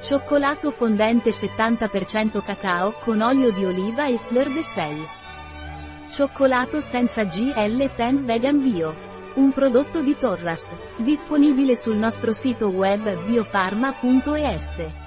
Cioccolato fondente 70% cacao con olio di oliva e fleur de sel. Cioccolato senza GL10 Vegan Bio. Un prodotto di Torras. Disponibile sul nostro sito web biofarma.es.